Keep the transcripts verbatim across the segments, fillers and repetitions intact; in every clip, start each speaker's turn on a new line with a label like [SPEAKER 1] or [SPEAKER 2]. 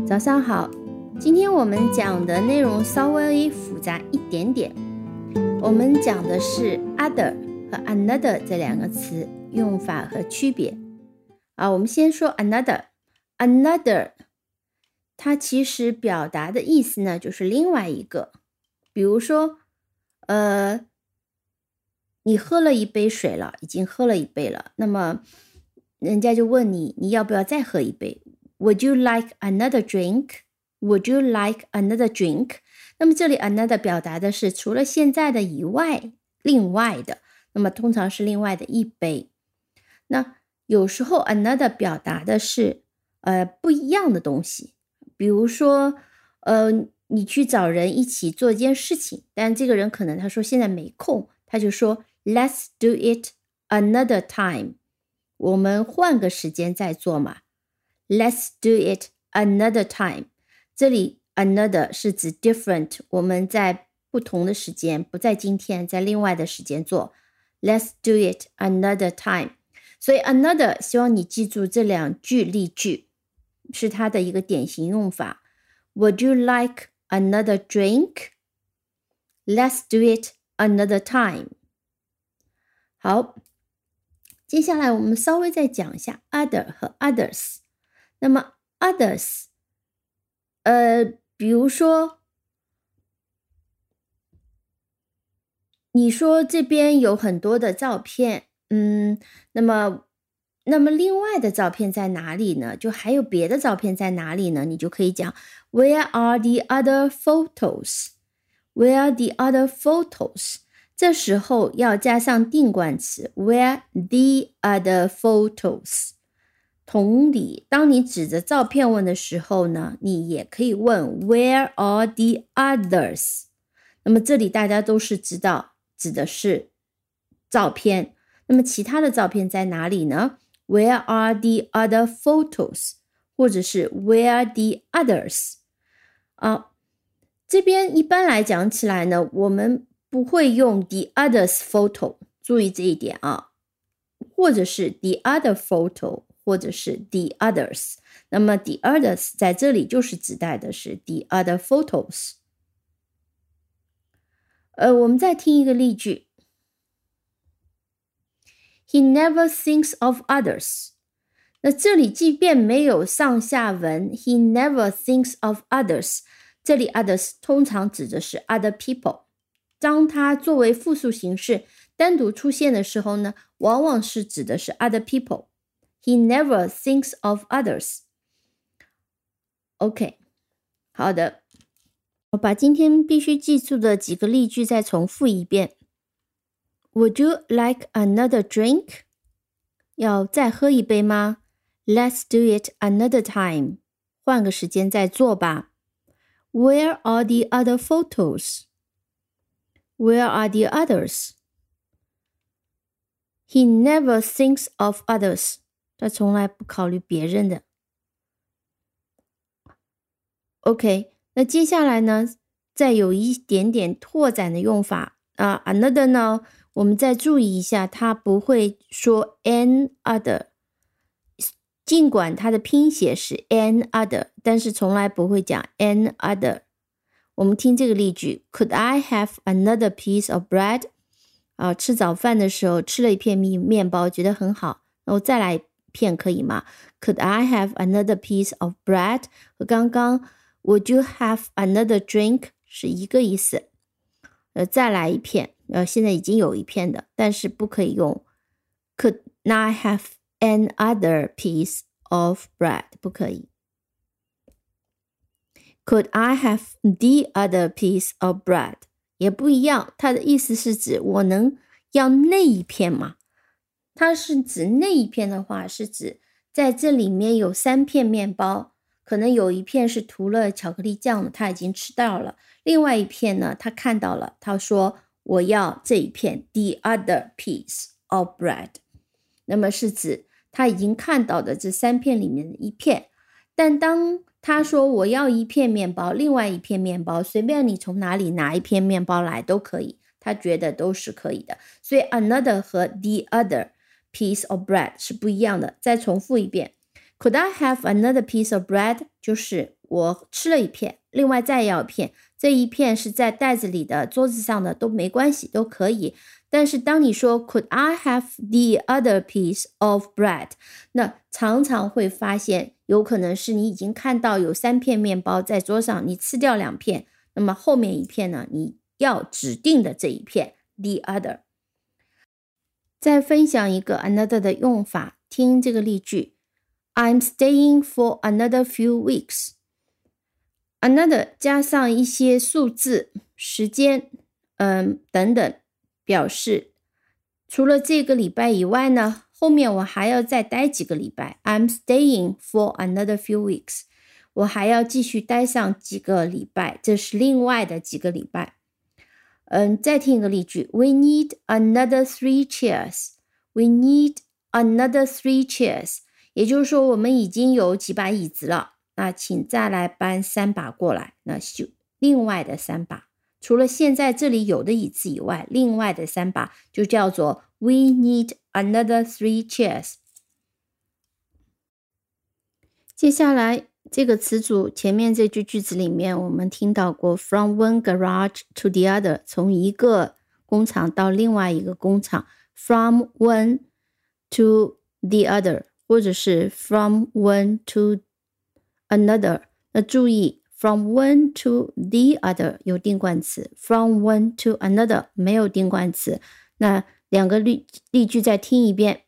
[SPEAKER 1] 早上好，今天我们讲的内容稍微复杂一点点。我们讲的是 other 和 another 这两个词用法和区别。啊，我们先说 another。another 它其实表达的意思呢，就是另外一个。比如说，呃，你喝了一杯水了，已经喝了一杯了，那么人家就问你，你要不要再喝一杯？ Would you like another drink? Would you like another drink? 那么这里 another 表达的是除了现在的以外，另外的，那么通常是另外的一杯。那有时候 another 表达的是呃不一样的东西，比如说呃你去找人一起做一件事情，但这个人可能他说现在没空，他就说 Let's do it another time. 我们换个时间再做嘛。Let's do it another time. 这里 another 是指 different， 我们在不同的时间，不在今天，在另外的时间做。Let's do it another time. 所以 another 希望你记住这两句例句，是它的一个典型用法。Would you like another drink? Let's do it another time. 好，接下来我们稍微再讲一下 other 和 others。那么 others 呃，比如说你说这边有很多的照片，嗯，那么那么另外的照片在哪里呢？就还有别的照片在哪里呢？你就可以讲 Where are the other photos? Where are the other photos? 这时候要加上定冠词 Where the other photos?同理，当你指着照片问的时候呢，你也可以问 Where are the others? 那么这里大家都是知道指的是照片，那么其他的照片在哪里呢？ Where are the other photos? 或者是 Where are the others? 啊，这边一般来讲起来呢，我们不会用 the others photo， 注意这一点啊，或者是 the other photo，或者是 the others， 那么 the others 在这里就是指代的是 the other photos。 呃，我们再听一个例句 He never thinks of others。 那这里即便没有上下文 He never thinks of others， 这里 others 通常指的是 other people， 当它作为复数形式单独出现的时候呢，往往是指的是 other people。He never thinks of others. OK， 好的，我把今天必须记住的几个例句再重复一遍。Would you like another drink? 要再喝一杯吗？ Let's do it another time. 换个时间再做吧。Where are the other photos? Where are the others? He never thinks of others.他从来不考虑别人的。 OK， 那接下来呢，再有一点点拓展的用法啊 another 呢，我们再注意一下，它不会说 an other， 尽管它的拼写是 an other， 但是从来不会讲 an other。 我们听这个例句 Could I have another piece of bread？ 啊，吃早饭的时候吃了一片面包，觉得很好，然后再来片可以吗？ Could I have another piece of bread? 和刚刚 Would you have another drink 是一个意思。呃，再来一片，呃，现在已经有一片的，但是不可以用 Could I have another piece of bread？ 不可以。Could I have the other piece of bread？ 也不一样，它的意思是指我能要那一片吗？它是指那一片的话，是指在这里面有三片面包，可能有一片是涂了巧克力酱的，他已经吃到了，另外一片呢，他看到了，他说我要这一片 the other piece of bread， 那么是指他已经看到的这三片里面的一片。但当他说我要一片面包，另外一片面包，随便你从哪里拿一片面包来都可以，他觉得都是可以的。所以 another 和 the other piece of bread 是不一样的。再重复一遍 Could I have another piece of bread? 就是我吃了一片，另外再要一片，这一片是在袋子里的，桌子上的都没关系，都可以。但是当你说 Could I have the other piece of bread？ 那常常会发现有可能是你已经看到有三片面包在桌上，你吃掉两片，那么后面一片呢，你要指定的这一片 the other。 再分享一个 another 的用法，听这个例句 I'm staying for another few weeks。 another 加上一些数字、时间嗯等等，表示除了这个礼拜以外呢，后面我还要再待几个礼拜。 I'm staying for another few weeks， 我还要继续待上几个礼拜，这是另外的几个礼拜。嗯，再听一个例句 We need another three chairs。 We need another three chairs， 也就是说我们已经有几把椅子了，那请再来搬三把过来，那就另外的三把，除了现在这里有的椅子以外，另外的三把就叫做 We need another three chairs。 接下来这个词组前面这句句子里面我们听到过 From one garage to the other， 从一个工厂到另外一个工厂， From one to the other， 或者是 From one to another。 那注意From one to the other 有定冠词， From one to another 没有定冠词。那两个 例, 例句再听一遍。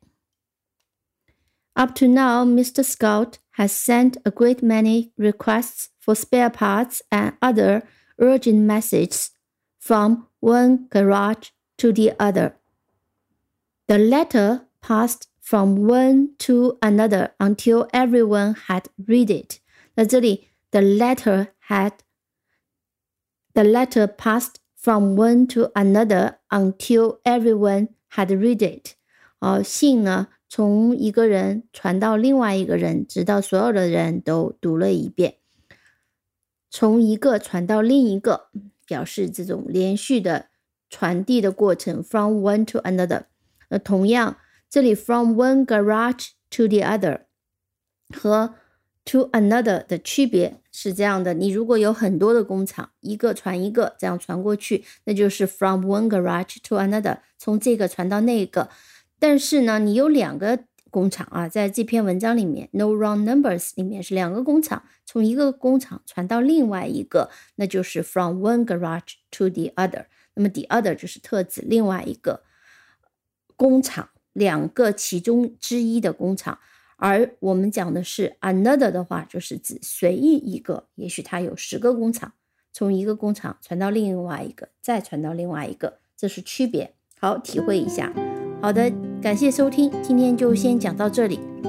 [SPEAKER 1] Up to now, Mister Scott has sent a great many requests for spare parts and other urgent messages from one garage to the other. The letter passed from one to another until everyone had read it. 那这里The letter had the letter passed from one to another until everyone had read it。 哦，信呢从一个人传到另外一个人，直到所有的人都读了一遍。从一个传到另一个，表示这种连续的传递的过程 from one to another。 那同样这里 from one garage to the other 和to another 的区别是这样的，你如果有很多的工厂，一个传一个这样传过去，那就是 from one garage to another， 从这个传到那个。但是呢你有两个工厂啊，在这篇文章里面 no wrong numbers 里面是两个工厂，从一个工厂传到另外一个，那就是 from one garage to the other。 那么 the other 就是特指另外一个工厂，两个其中之一的工厂。而我们讲的是 another 的话，就是指随意一个，也许它有十个工厂，从一个工厂传到另外一个，再传到另外一个，这是区别。好，体会一下。好的，感谢收听，今天就先讲到这里。